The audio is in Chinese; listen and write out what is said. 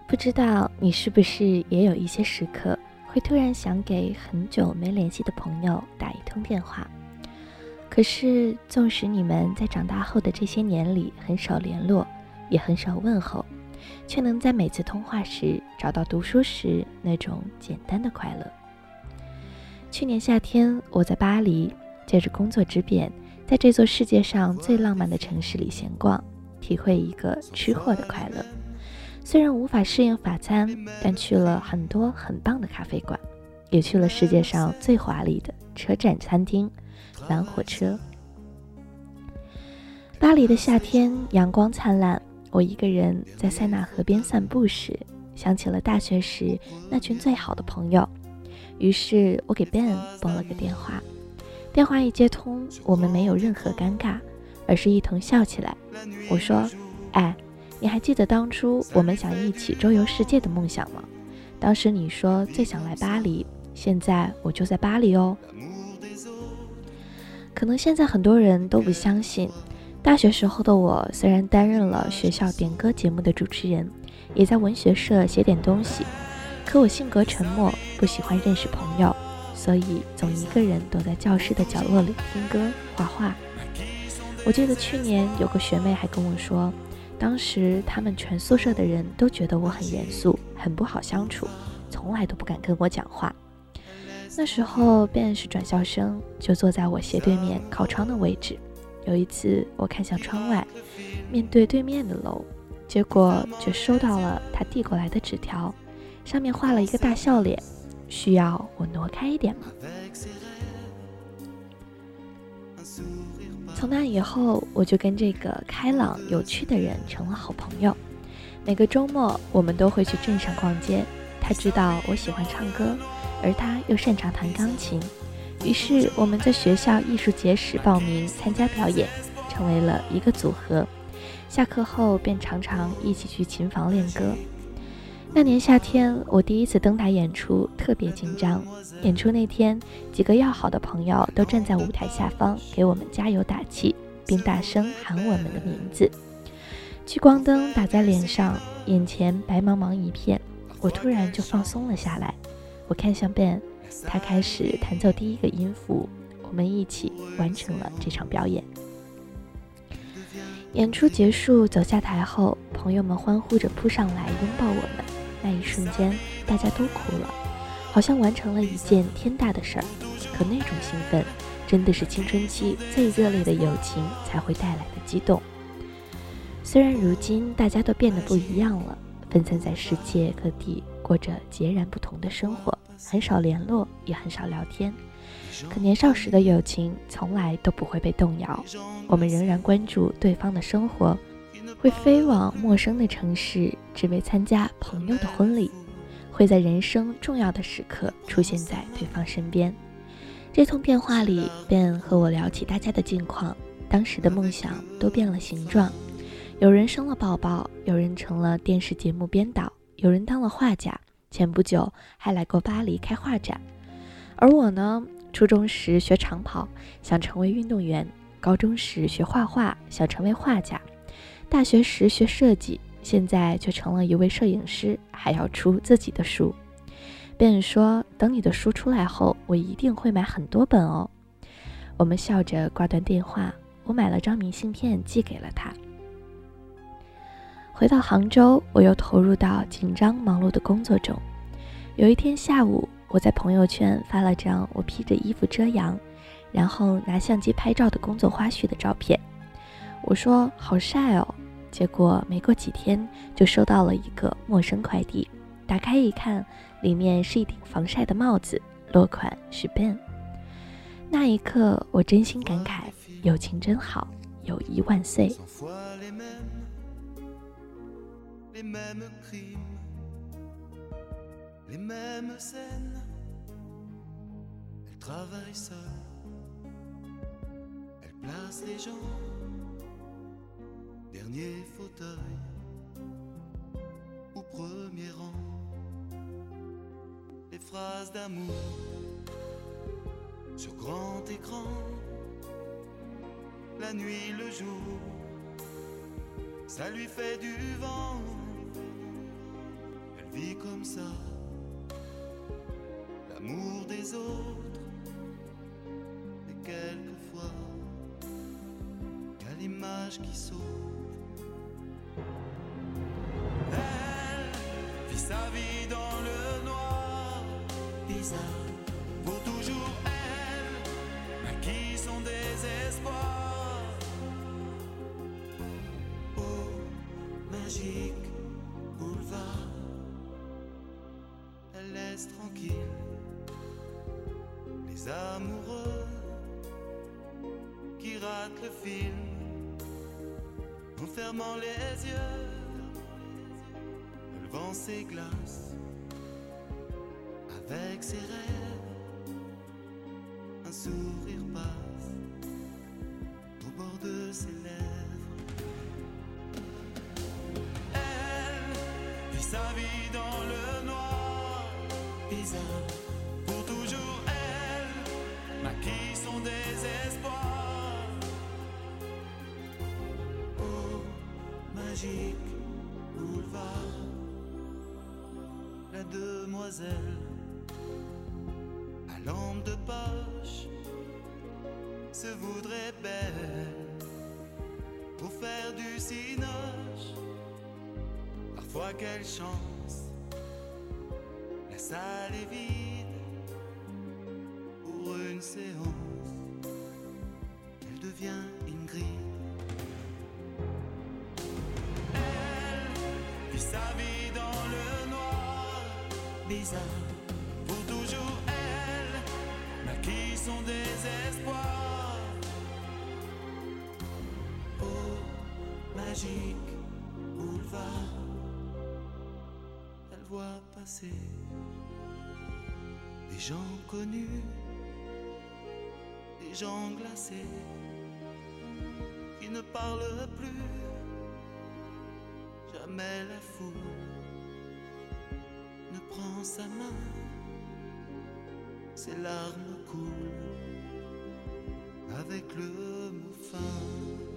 不知道你是不是也有一些时刻，会突然想给很久没联系的朋友打一通电话。可是纵使你们在长大后的这些年里很少联络，也很少问候，却能在每次通话时找到读书时那种简单的快乐。去年夏天，我在巴黎，借着工作之便，在这座世界上最浪漫的城市里闲逛，体会一个吃货的快乐。虽然无法适应法餐，但去了很多很棒的咖啡馆，也去了世界上最华丽的车站餐厅蓝火车。巴黎的夏天阳光灿烂，我一个人在塞纳河边散步时，想起了大学时那群最好的朋友，于是我给 Ben 拨了个电话。电话一接通，我们没有任何尴尬，而是一同笑起来。我说：你还记得当初我们想一起周游世界的梦想吗？当时你说最想来巴黎，现在我就在巴黎哦。可能现在很多人都不相信，大学时候的我虽然担任了学校点歌节目的主持人，也在文学社写点东西，可我性格沉默，不喜欢认识朋友，所以总一个人躲在教室的角落里听歌画画。我记得去年有个学妹还跟我说，当时他们全宿舍的人都觉得我很严肃，很不好相处，从来都不敢跟我讲话。那时候便是转校生，就坐在我斜对面靠窗的位置。有一次我看向窗外，面对对面的楼，结果却收到了他递过来的纸条，上面画了一个大笑脸，需要我挪开一点吗？从那以后，我就跟这个开朗有趣的人成了好朋友。每个周末我们都会去镇上逛街，他知道我喜欢唱歌，而他又擅长弹钢琴，于是我们在学校艺术节时报名参加表演，成为了一个组合。下课后便常常一起去琴房练歌。那年夏天，我第一次登台演出，特别紧张。演出那天，几个要好的朋友都站在舞台下方给我们加油打气，并大声喊我们的名字。聚光灯打在脸上，眼前白茫茫一片，我突然就放松了下来。我看向 Ben， 他开始弹奏第一个音符，我们一起完成了这场表演。演出结束，走下台后，朋友们欢呼着扑上来拥抱我们。那一瞬间，大家都哭了，好像完成了一件天大的事儿。可那种兴奋，真的是青春期最热烈的友情才会带来的激动。虽然如今大家都变得不一样了，分散在世界各地，过着截然不同的生活，很少联络，也很少聊天。可年少时的友情从来都不会被动摇，我们仍然关注对方的生活，会飞往陌生的城市，只为参加朋友的婚礼，会在人生重要的时刻出现在对方身边。这通电话里，便和我聊起大家的近况，当时的梦想都变了形状，有人生了宝宝，有人成了电视节目编导，有人当了画家，前不久还来过巴黎开画展。而我呢，初中时学长跑，想成为运动员；高中时学画画，想成为画家；大学时学设计，现在却成了一位摄影师，还要出自己的书。别人说，等你的书出来后，我一定会买很多本哦。我们笑着挂断电话，我买了张明信片寄给了他。回到杭州，我又投入到紧张忙碌的工作中。有一天下午，我在朋友圈发了张我披着衣服遮阳，然后拿相机拍照的工作花絮的照片。我说好晒哦，结果没过几天就收到了一个陌生快递，打开一看，里面是一顶防晒的帽子，落款是 Ben。 那一刻我真心感慨，友情真好，友谊万岁。 Les mêmes scènes, elle travaille seule, elle place les gens, dernier fauteuil ou premier rang, les phrases d'amour sur grand écran, la nuit, le jour, ça lui fait du vent. vit comme ça l'amour des autres. Et quelquefois, y a l'image qui saute. Elle vit sa vie dans le noir, bizarre. Pour toujours, elle naquit son désespoir. Oh, magique boulevard, elle laisse tranquille les amoureux qui ratent le film en fermant les yeux, levant ses glaces avec ses rêves. Un sourire passe au bord de ses lèvres. Elle vit sa vie dans le noir, bizarre. Pour toujours, elle maquille son désespoir. Oh, magique boulevard, la demoiselle à lampe de poche se voudrait belle pour faire du cinoche. Parfois quelle chance, la salle est vide. Pour une séance, elle devient Ingrid. Elle vit sa vie dans le noir, bizarre. Pour toujours, elle naquit son désespoir. Oh, magique boulevard, elle voit passer des gens connus, des gens glacés qui ne parlent plus. Jamais la foule ne prend sa main, ses larmes coulent avec le mot fin.